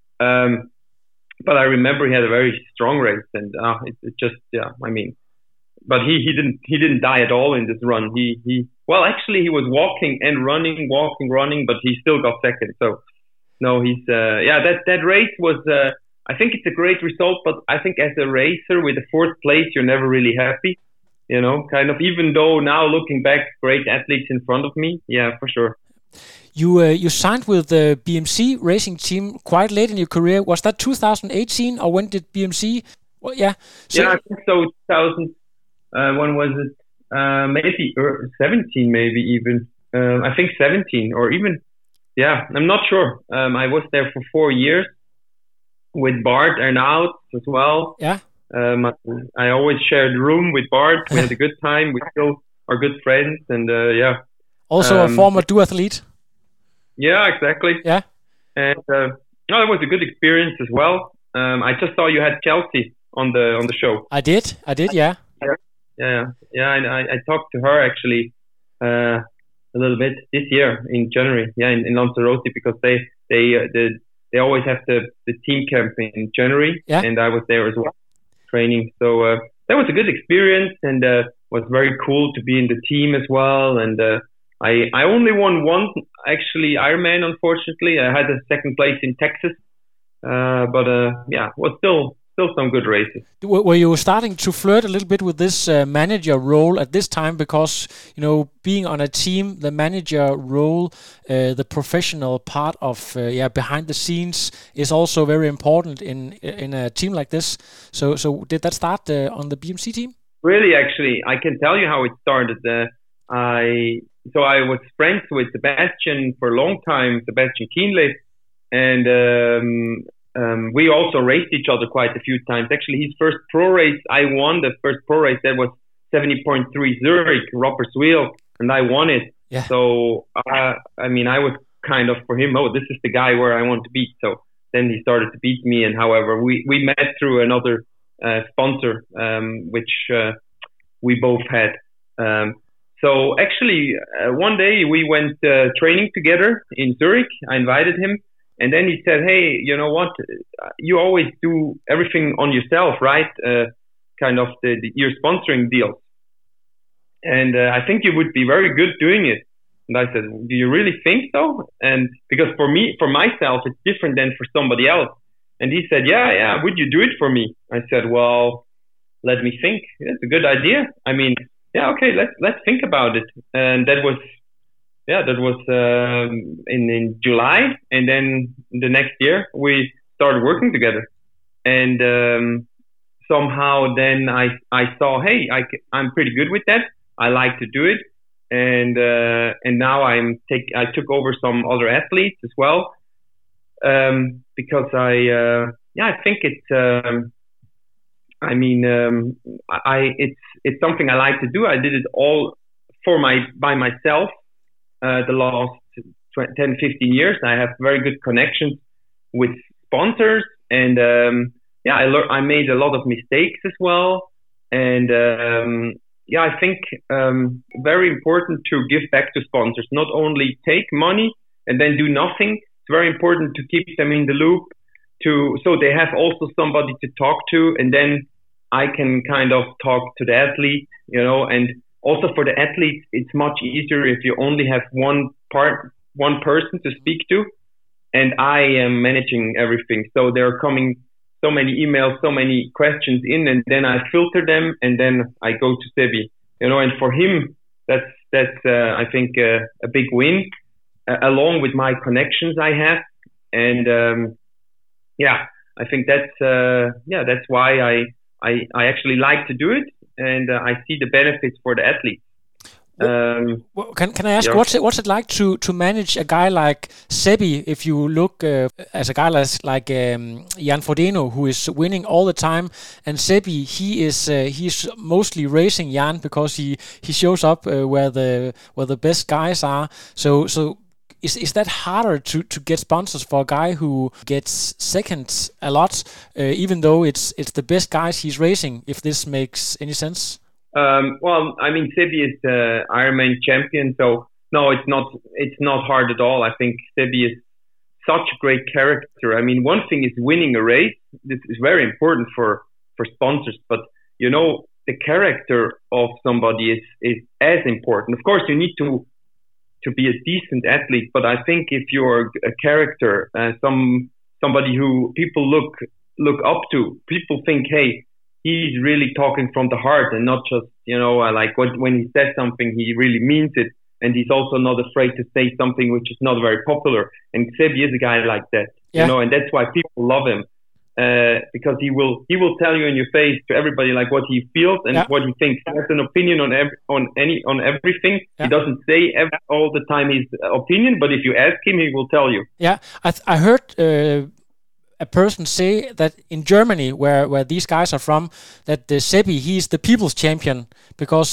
but I remember he had a very strong race, and it just, I mean, but he didn't die at all in this run. Well, actually, he was walking and running, but he still got second. So, no, he's that race was. I think it's a great result, but I think as a racer with a 4th place, you're never really happy. You know, kind of. Even though now looking back, great athletes in front of me. Yeah, for sure. You signed with the BMC racing team quite late in your career. Was that 2018, or when did BMC? Well, yeah. So, I think so. 2000. When was it? Maybe 17, maybe even. I think 17, or even. Yeah, I'm not sure. I was there for 4 years with Bart Arnault as well. Yeah. I always shared a room with Bart. We had a good time. We still are good friends, and Also a former duathlete. Yeah, exactly. Yeah. And it was a good experience as well. I just saw you had Chelsea on the show. I did. Yeah. Yeah. And I talked to her actually a little bit this year in January. Yeah, in Lanzarote, because they always have the team camp in January, and I was there as well, training. So that was a good experience, and was very cool to be in the team as well. And I only won one actually Ironman, unfortunately. I had a 2nd place in Texas, but was still some good races. Were you starting to flirt a little bit with this manager role at this time? Because, you know, being on a team, the manager role, the professional part of behind the scenes is also very important in a team like this. So did that start on the BMC team? Really, actually, I can tell you how it started. I was friends with Sebastian for a long time, Sebastian Kienle, and we also raced each other quite a few times. Actually, his first pro race, I won the first pro race. That was 70.3 Zurich, Roppers Wheel, and I won it. Yeah. So, I was kind of for him, this is the guy where I want to beat. So then he started to beat me, and however, we met through another sponsor, which we both had. So actually, one day we went training together in Zurich. I invited him. And then he said, hey, you know what? You always do everything on yourself, right? Kind of your sponsoring deals. And I think you would be very good doing it. And I said, do you really think so? And because for myself, it's different than for somebody else. And he said, yeah, would you do it for me? I said, well, let me think. That's a good idea. I mean, yeah, okay, let's think about it. And that was in July, and then the next year we started working together. And somehow then I saw, hey, I'm pretty good with that. I like to do it, and now I took over some other athletes as well, because I think it's it's something I like to do. I did it all by myself. The last 10, 15 years, I have very good connections with sponsors, and I made a lot of mistakes as well. And I think very important to give back to sponsors, not only take money and then do nothing. It's very important to keep them in the loop, so they have also somebody to talk to, and then I can kind of talk to the athlete, you know. And also for the athletes, it's much easier if you only have one person to speak to, and I am managing everything. So they're coming so many emails, so many questions in, and then I filter them, and then I go to Sebi. And for him, that's I think a big win, along with my connections I have, and I think that's why I actually like to do it, and I see the benefits for the athletes. Can I ask, what's it like to manage a guy like Sebi? If you look as a guy like Jan Frodeno, who is winning all the time, and Sebi, he's mostly racing Jan because he shows up where the best guys are. So is that harder to get sponsors for a guy who gets second a lot, even though it's the best guys he's racing? If this makes any sense. Well, I mean, Sebi is the Ironman champion, so no, it's not hard at all. I think Sebi is such a great character. I mean, one thing is winning a race. This is very important for sponsors, but the character of somebody is as important. Of course, you need to be a decent athlete, but I think if you're a character, somebody who people look up to, people think, hey, he's really talking from the heart and not just, when he says something, he really means it. And he's also not afraid to say something which is not very popular. And Sebi is a guy like that, and that's why people love him. Because he will tell you in your face to everybody like what he feels and what he thinks. He has an opinion on everything. Yeah. He doesn't say all the time his opinion, but if you ask him, he will tell you. Yeah, I heard a person say that in Germany, where these guys are from, that Sebi, he's the people's champion because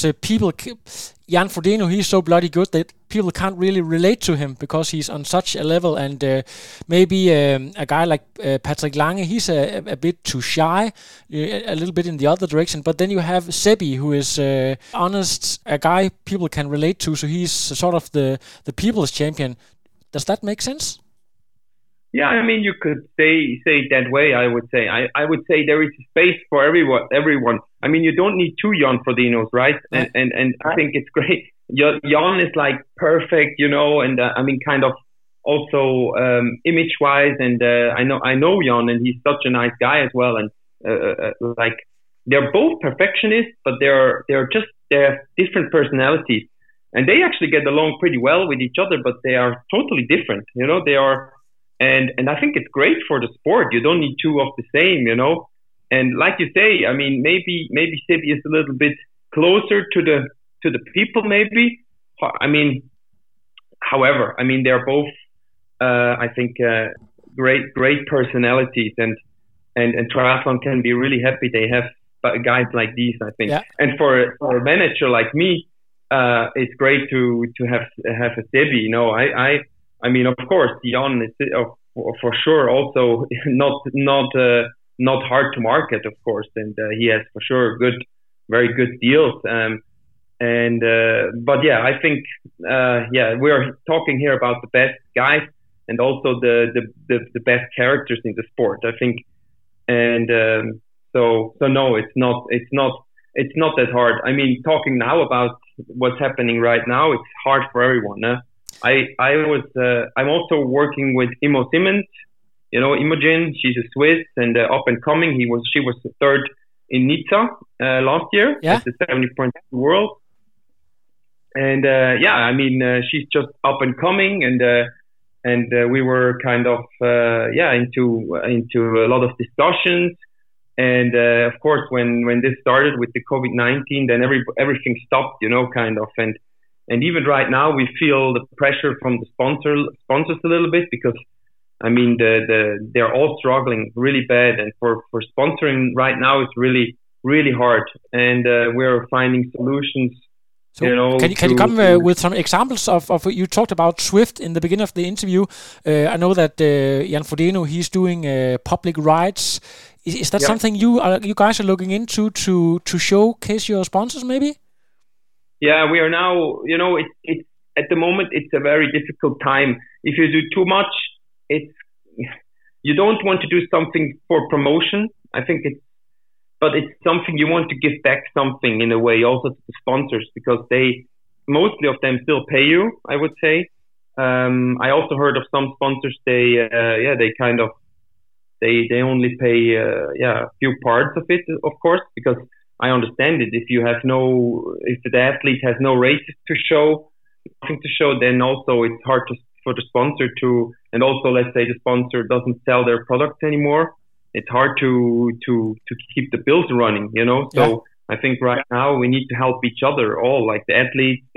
Jan Frodeno, he's so bloody good that people can't really relate to him because he's on such a level, and maybe a guy like Patrick Lange, he's a bit too shy, a little bit in the other direction, but then you have Sebi, who is honest, a guy people can relate to, so he's sort of the people's champion. Does that make sense? Yeah, I mean, you could say it that way. I would say there is space for everyone. I mean, you don't need two Jan Frodenos, right? And I think it's great. Jan is like perfect, and I mean, kind of also image-wise. And I know Jan, and he's such a nice guy as well. And like they're both perfectionists, but they have different personalities, and they actually get along pretty well with each other. But they are totally different. They are. And I think it's great for the sport. You don't need two of the same, And like you say, I mean, maybe Sebi is a little bit closer to the people, maybe. I mean, however, I mean, they're both, I think, great personalities, and triathlon can be really happy they have guys like these, I think. Yeah. And for a manager like me, it's great to have a Sebi. I mean, of course, Jan is for sure also not hard to market, of course, and he has for sure very good deals. But yeah, I think we're talking here about the best guys and also the best characters in the sport, I think. And so no, it's not that hard. I mean, talking now about what's happening right now, it's hard for everyone. I'm also working with Imo Simmons, Imogen. She's a Swiss and up and coming. She was third in Nizza last year at the 70.2 World. And I mean, she's just up and coming, and we were kind of into a lot of discussions. And of course, when this started with the COVID-19, then everything stopped, kind of. And even right now, we feel the pressure from the sponsors a little bit, because I mean they're all struggling really bad, and for sponsoring right now it's really really hard. And we're finding solutions. So can you come with some examples of you talked about Zwift in the beginning of the interview? I know that Jan Frodeno, he's doing public rides. Is that something you guys are looking into to showcase your sponsors, maybe? Yeah, we are now, it's at the moment, it's a very difficult time. If you do too much, you don't want to do something for promotion. I think but it's something you want to give back something in a way also to the sponsors, because mostly of them still pay you, I would say. I also heard of some sponsors, they kind of They only pay a few parts of it, of course, because I understand it. If the athlete has no races to show, nothing to show, then also it's hard for the sponsor to, and also let's say the sponsor doesn't sell their products anymore. It's hard to keep the bills running, So I think right now we need to help each other, all like the athletes,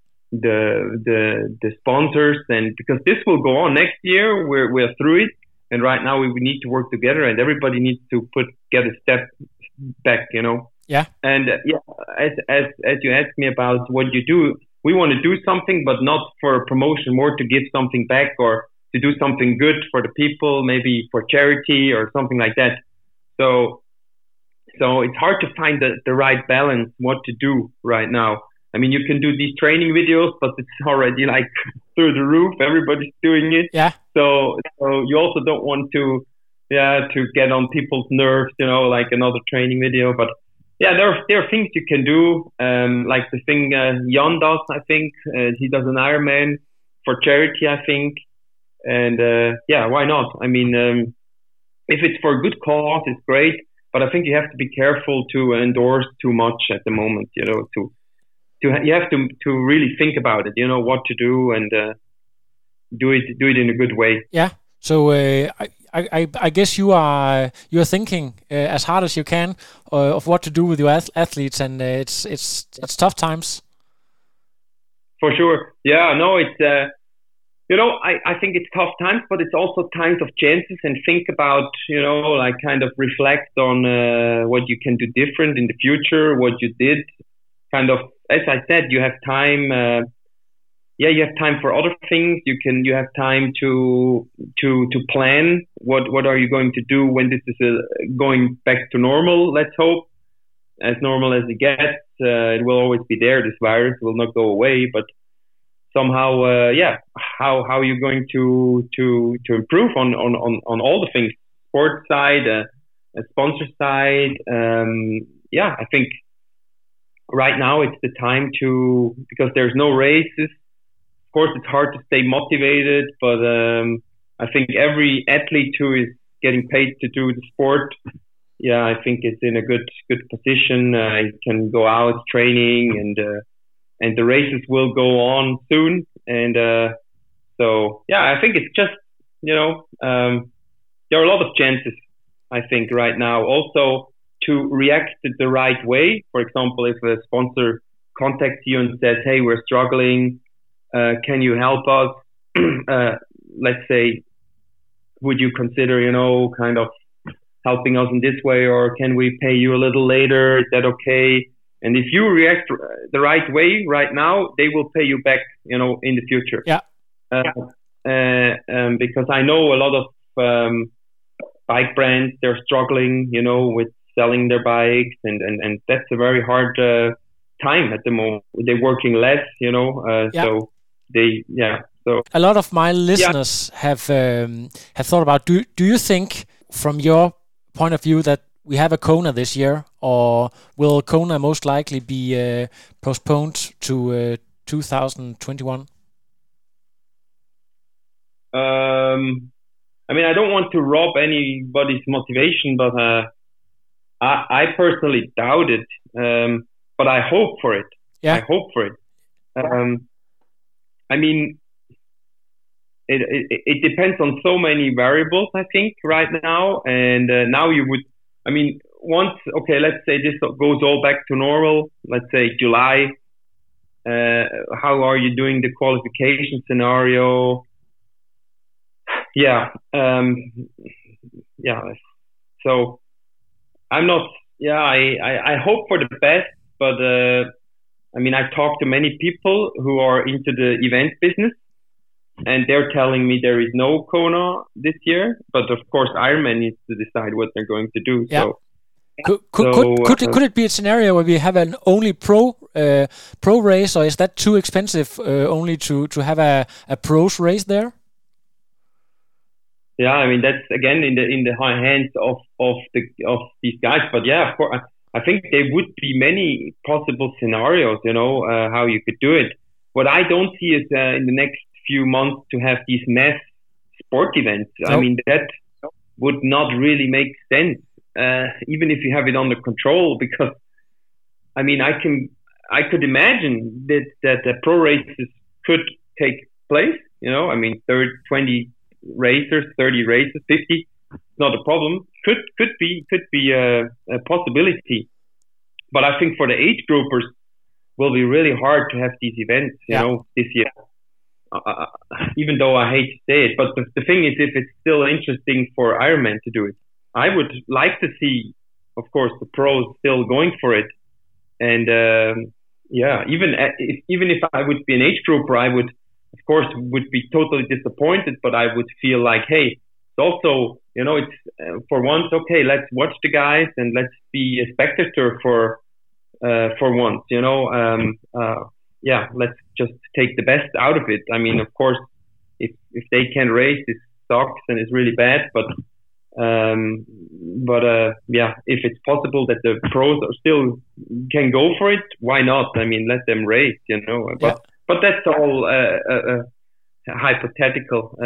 the sponsors, and because this will go on next year. We're through it, and right now we need to work together, and everybody needs to get a step back, Yeah. And as you asked me about what you do, we want to do something, but not for promotion, more to give something back or to do something good for the people, maybe for charity or something like that. So it's hard to find the right balance, what to do right now. I mean, you can do these training videos, but it's already like through the roof. Everybody's doing it. Yeah. So you also don't want to get on people's nerves, like another training video. But yeah, there are things you can do, like the thing Jan does. I think he does an Ironman for charity, I think, and why not? I mean, if it's for a good cause, it's great. But I think you have to be careful to endorse too much at the moment. You have to really think about it. What to do and do it in a good way. Yeah. So I guess you're thinking as hard as you can of what to do with your athletes, and it's tough times. For sure. Yeah. No. It's I think it's tough times, but it's also times of chances, and think about like kind of reflect on what you can do different in the future, what you did. Kind of, as I said, you have time. You have time for other things. You have time to plan. What are you going to do when this is going back to normal? Let's hope, as normal as it gets. It will always be there. This virus will not go away, but somehow, how are you going to improve on all the things? Sports side, sponsor side. I think right now it's the time because there's no races. Of course, it's hard to stay motivated, but I think every athlete who is getting paid to do the sport, I think is in a good position. He can go out training, and the races will go on soon. And I think it's just there are a lot of chances, I think, right now. Also, to react the right way. For example, if a sponsor contacts you and says, "Hey, we're struggling. Can you help us?" Let's say, would you consider, kind of helping us in this way, or can we pay you a little later? Is that okay? And if you react the right way right now, they will pay you back, in the future. Yeah. Because I know a lot of bike brands, they're struggling, with selling their bikes, and that's a very hard time at the moment. They're working less, so they, so a lot of my listeners have thought about, do you think from your point of view that we have a Kona this year, or will Kona most likely be postponed to 2021? I mean, I don't want to rob anybody's motivation, but I personally doubt it. But I hope for it. Yeah. I hope for it. I mean, it depends on so many variables, I think, right now. And now let's say this goes all back to normal. Let's say July. How are you doing the qualification scenario? So I'm not. I hope for the best, but I talked to many people who are into the event business, and they're telling me there is no Kona this year. But of course, Ironman needs to decide what they're going to do. Yeah. So could it be a scenario where we have an only pro race, or is that too expensive only to have a pros race there? Yeah, that's again in the high hands of these guys. But of course, I think there would be many possible scenarios. How you could do it. What I don't see is in the next few months to have these mass sport events. No. would not really make sense, even if you have it under control. Because I mean, I could imagine that the pro races could take place. You know, I mean, 20 racers, 30 races, 50, not a problem. Could be a possibility. But I think for the age groupers, will be really hard to have these events, you know, this year. Even though I hate to say it, but the thing is, if it's still interesting for Ironman to do it, I would like to see, of course, the pros still going for it. And even if I would be an age grouper, I would, of course, be totally disappointed. But I would feel like, hey, it's also, you know, it's for once, okay, let's watch the guys and let's be a spectator for once, you know. Let's just take the best out of it. I mean, of course, if they can race, it sucks and it's really bad. But if it's possible that the pros are still can go for it, why not? I mean, let them race, you know. But that's all hypothetical.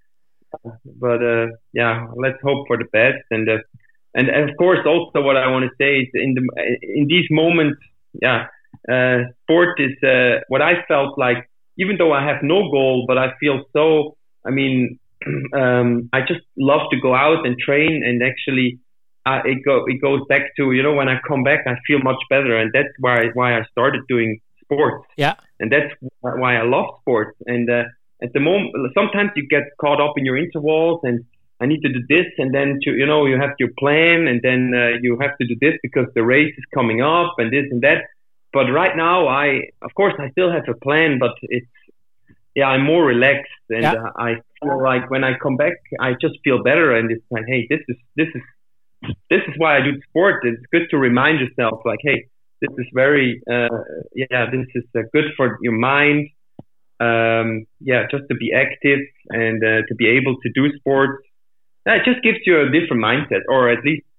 Let's hope for the best. And of course, also what I want to say is in these moments, sport is what I felt like. Even though I have no goal, but I feel so. I mean, I just love to go out and train, and actually, it goes back to, you know, when I come back, I feel much better, and that's why I started doing sports. Yeah, and that's why I love sports. And at the moment, sometimes you get caught up in your intervals, and I need to do this, and then you have your plan, and then you have to do this because the race is coming up, and this and that. But right now, of course I still have a plan, but I'm more relaxed, and I feel like when I come back, I just feel better, and it's like, hey, this is why I do sport. It's good to remind yourself, like, hey, this is very, this is good for your mind. Just to be active and to be able to do sports. It just gives you a different mindset, or at least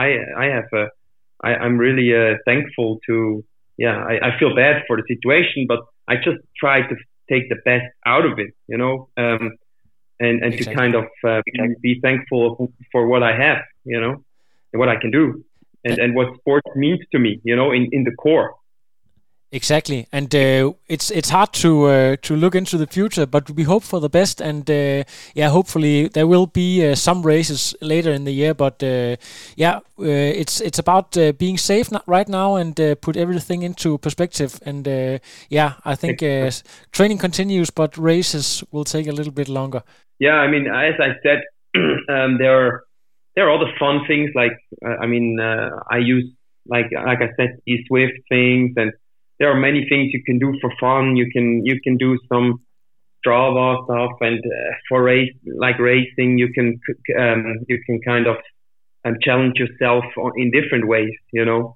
I'm really thankful to. I feel bad for the situation, but I just try to take the best out of it, you know, and exactly. To kind of be thankful for what I have, you know, and what I can do, and what sports means to me, you know, in the core. Exactly, and it's hard to look into the future, but we hope for the best, and hopefully there will be some races later in the year. But it's about being safe right now and put everything into perspective. And I think training continues, but races will take a little bit longer. Yeah, I mean, as I said, there are other fun things like I use like I said, these Swift things, and there are many things you can do for fun. You can do some Strava stuff, and for racing, you can kind of challenge yourself in different ways. You know.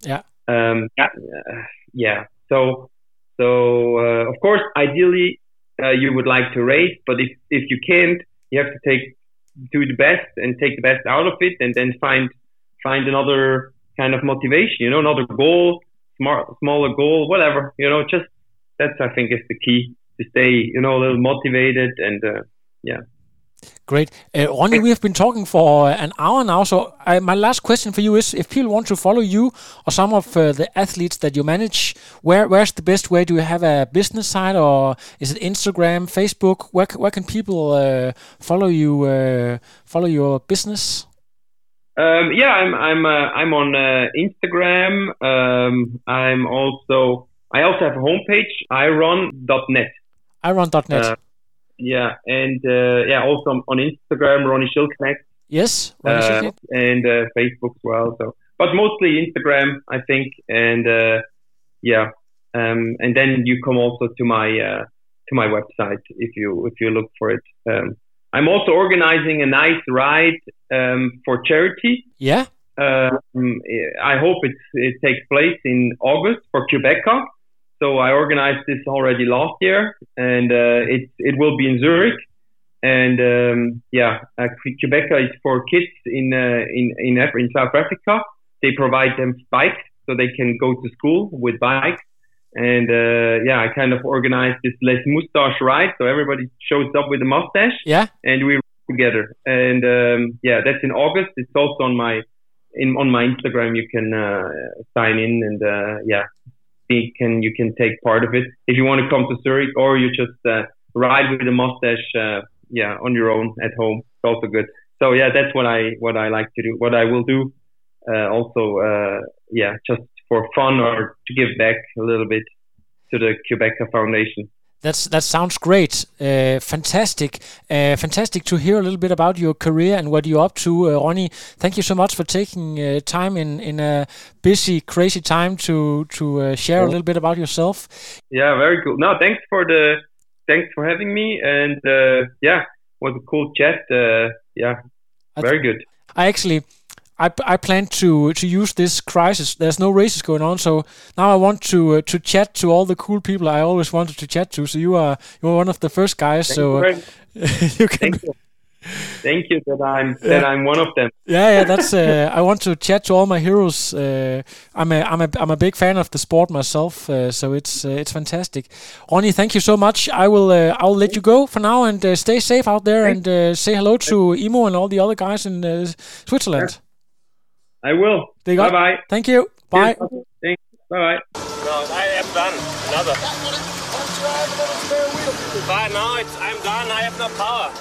So of course, ideally, you would like to race, but if you can't, you have to do the best and take the best out of it, and then find another kind of motivation. You know, another goal. Smaller goal, whatever, you know, just that's, I think, is the key to stay, you know, a little motivated and, Great. Ronny, we have been talking for an hour now, so my last question for you is, if people want to follow you or some of the athletes that you manage, where's the best way? Do you have a business site, or is it Instagram, Facebook? Where can people follow your business? I'm on Instagram. I also have a homepage, iron.net. Iron.net. Also on Instagram, Ronny Schildknecht. Yes, Ronny Schildknecht. And Facebook as well. So, but mostly Instagram, I think. And and then you come also to my website if you look for it. I'm also organizing a nice ride for charity. Yeah. I hope it takes place in August for Quebeca. So I organized this already last year, and it will be in Zurich. And Quebeca is for kids in South Africa. They provide them bikes so they can go to school with bikes. And I kind of organized this Les Moustache ride, so everybody shows up with a mustache. Yeah. And we together. And that's in August. It's also on my Instagram. You can sign in and you can take part of it if you want to come to Zurich, or you just ride with a mustache on your own at home. It's also good. So that's what I like to do. What I will do just for fun or to give back a little bit to the Qhubeka Foundation. That sounds great. Fantastic. Fantastic to hear a little bit about your career and what you're up to, Ronnie. Thank you so much for taking time in a busy, crazy time to share a little bit about yourself. Yeah, very cool. No, thanks for having me, and was a cool chat. Very good. I plan to use this crisis. There's no races going on, so now I want to chat to all the cool people I always wanted to chat to. So you are one of the first guys. You can. Thank you that I'm one of them. Yeah. That's I want to chat to all my heroes. I'm a big fan of the sport myself, so it's fantastic. Ronnie, thank you so much. I'll let you go for now and stay safe out there. Thanks. And say hello to Imo and all the other guys in Switzerland. Yeah. I will. Bye-bye. Thank you. Bye. Thanks. Bye-bye. No, I am done. Another. But now I'm done. I have no power.